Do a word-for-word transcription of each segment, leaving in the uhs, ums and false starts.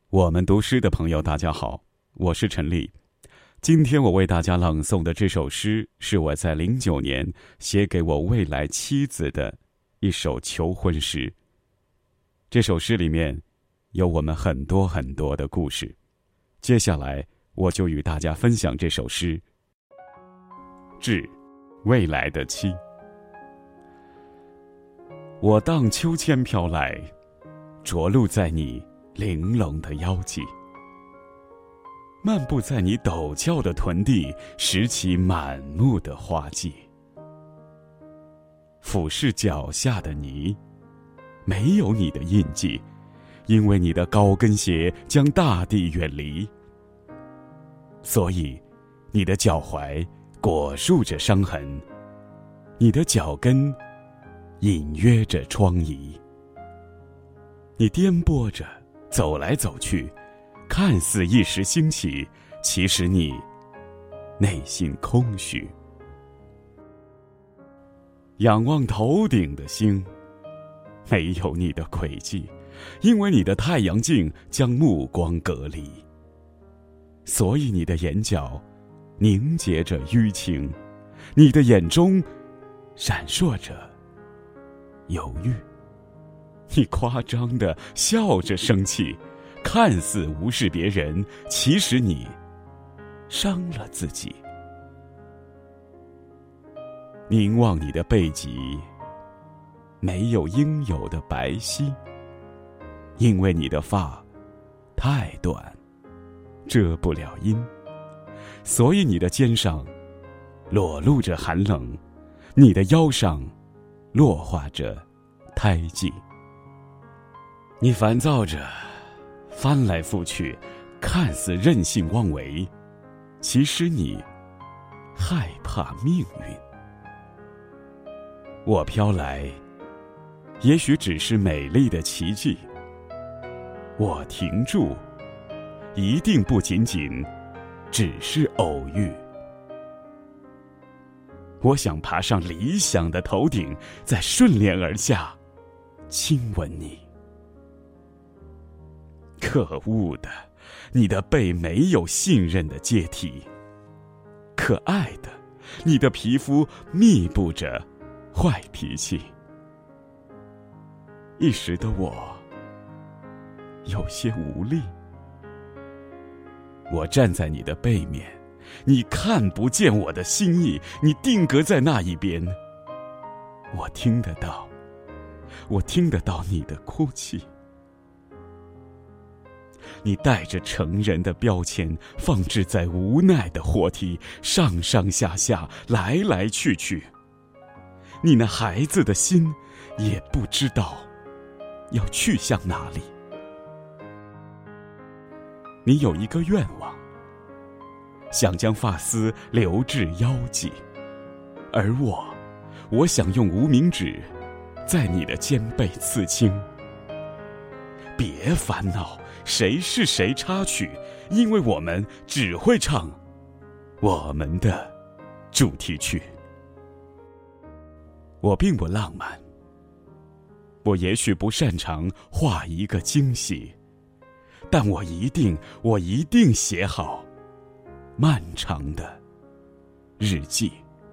我们读诗的朋友大家好，我是陈立。今天我为大家朗诵的这首诗是我在零九年写给我未来妻子的一首求婚诗。这首诗里面有我们很多很多的故事，接下来我就与大家分享这首诗。致未来的妻，我荡秋千飘来，着陆在你玲珑的腰际，漫步在你陡峭的臀地，拾起满目的花季，俯视脚下的泥，没有你的印记，因为你的高跟鞋将大地远离，所以你的脚踝裹束着伤痕，你的脚跟隐约着疮痍，你颠簸着走来走去，看似一时兴起，其实你内心空虚。仰望头顶的星，没有你的轨迹，因为你的太阳镜将目光隔离，所以你的眼角凝结着淤青，你的眼中闪烁着犹豫。你夸张地笑着生气，看似无视别人，其实你伤了自己。凝望你的背脊，没有应有的白皙，因为你的发太短，遮不了阴，所以你的肩上裸露着寒冷，你的腰上落化着胎记。你烦躁着翻来覆去，看似任性妄为，其实你害怕命运。我飘来，也许只是美丽的奇迹，我停住，一定不仅仅只是偶遇。我想爬上理想的头顶，再顺连而下，亲吻你。可恶的，你的背没有信任的阶梯。可爱的，你的皮肤密布着坏脾气。一时的我有些无力。我站在你的背面，你看不见我的心意，你定格在那一边。我听得到，我听得到你的哭泣。你带着成人的标签，放置在无奈的货梯，上上下下，来来去去。你那孩子的心也不知道要去向哪里。你有一个愿望，想将发丝留至腰际，而我，我想用无名指在你的肩背刺青。别烦恼谁是谁插曲，因为我们只会唱我们的主题曲。我并不浪漫，我也许不擅长画一个惊喜，但我一定我一定写好漫长的日记。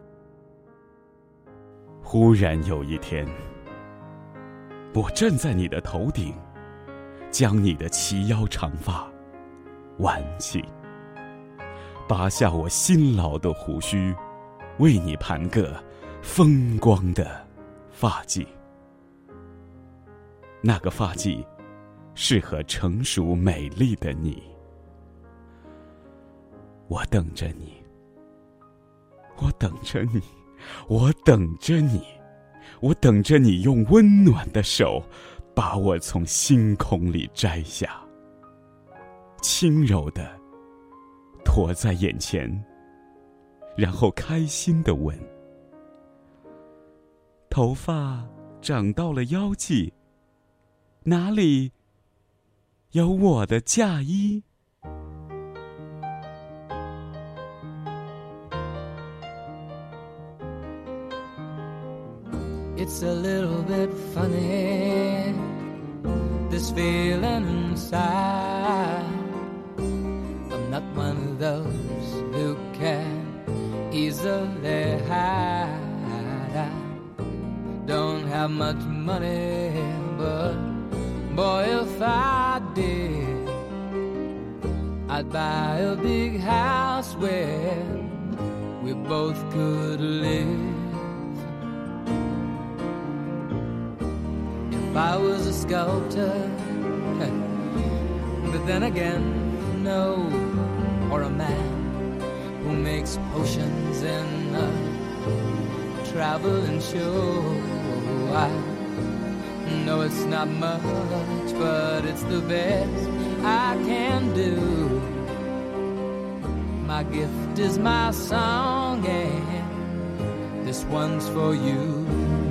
忽然有一天，我站在你的头顶，将你的齐腰长发挽起，拔下我辛劳的胡须，为你盘个风光的发髻。那个发髻适合成熟美丽的你。我等着你，我等着你，我等着你，我等着你用温暖的手把我从星空里摘下，轻柔地驮在眼前，然后开心地问：头发长到了腰际，哪里有我的嫁衣？ It's a little bit funny this feeling inside. I'm not one of those who can easily hide. I don't have much money, but boy, if I did, I'd buy a big house where we both could live. If I was a sculptor, but then again, no, or a man who makes potions in a traveling show. I know it's not much, but it's the best I can do. My gift is my song, and this one's for you.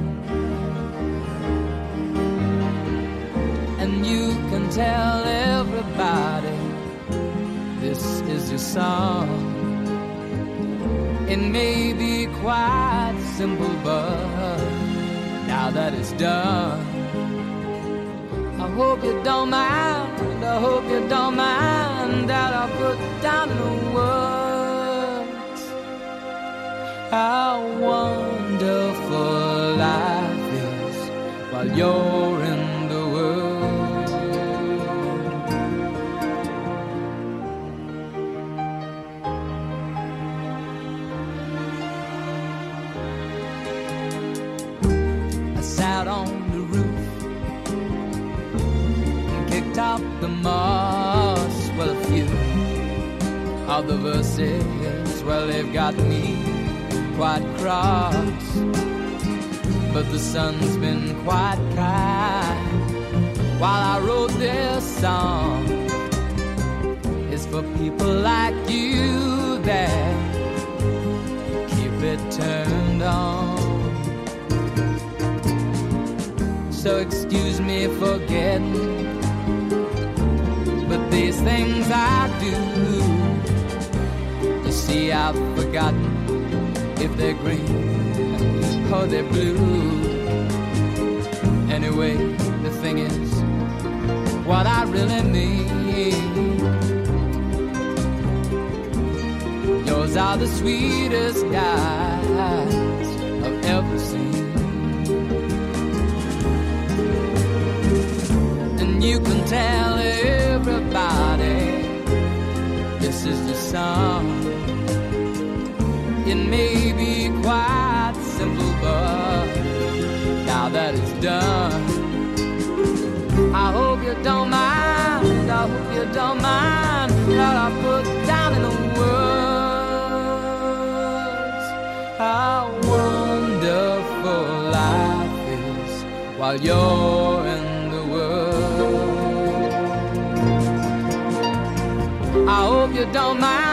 And you can tell everybody this is your song. It may be quite simple, but now that it's done, I hope you don't mind, I hope you don't mind that I put down in the words how wonderful life is while you're in the world. I sat on the roof and kicked up the moss. Well, a few of the verses, well, they've got me quite cross, but the sun's been quite kind while I wrote this song. It's for people like you that keep it turned on. So excuse me for getting, but these things I do, you see, I've forgotten if they're green or they're blue. Anyway, the thing is, what I really mean, yours are the sweetest eyes I've ever seen. And you can tell everybody this is your song. It may be quite simple, but now that it's done, I hope you don't mind, I hope you don't mind that I put down in the words how wonderful life is while you're in the world. I hope you don't mind